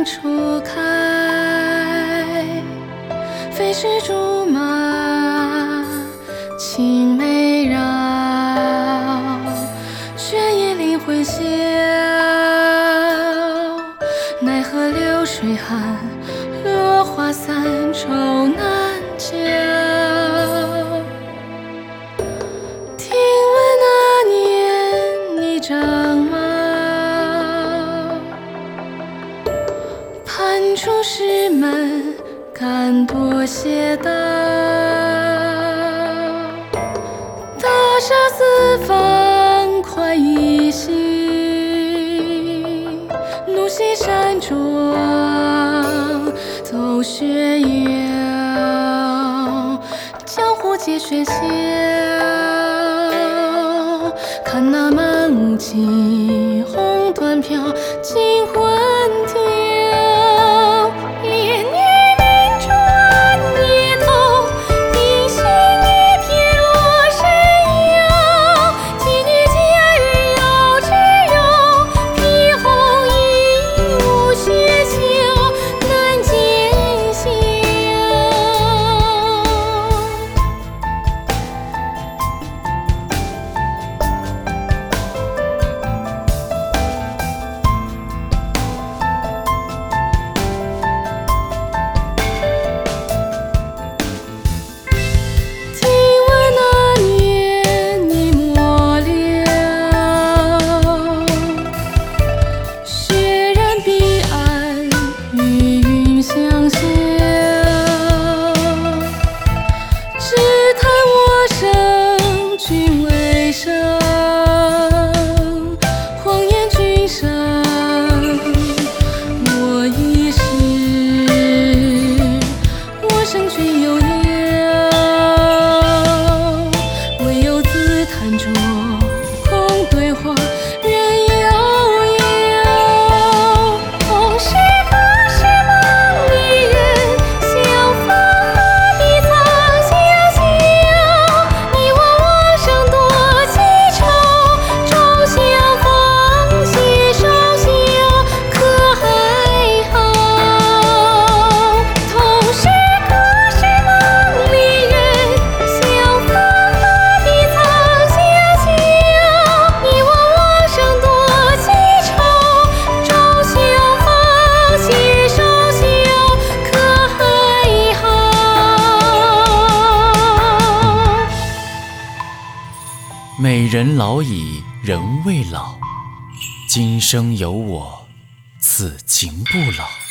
春初开，飞驰竹马，青梅绕，雪夜林魂晓，奈何流水寒，落花散，愁难教。听闻那年你正马，攀出石门，敢多谢道。大厦四方快意行，路西山庄走雪遥，江湖皆喧嚣。看那满屋青红缎飘，惊魂跳。连女明珠暗夜头，冰心一片落山腰。几女佳人绕枝柔，披红衣舞雪秋，难见笑。 美人老矣人未老，今生有我此情不老。